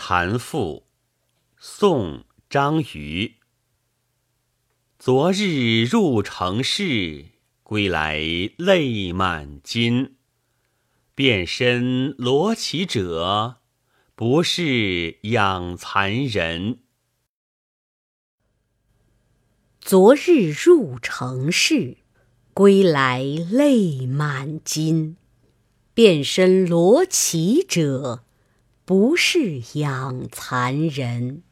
蚕妇，宋·张瑜。昨日入城市，归来泪满襟。遍身罗绮者，不是养蚕人。 昨日入城市，归来泪满襟。遍身罗绮者，不是养蚕人。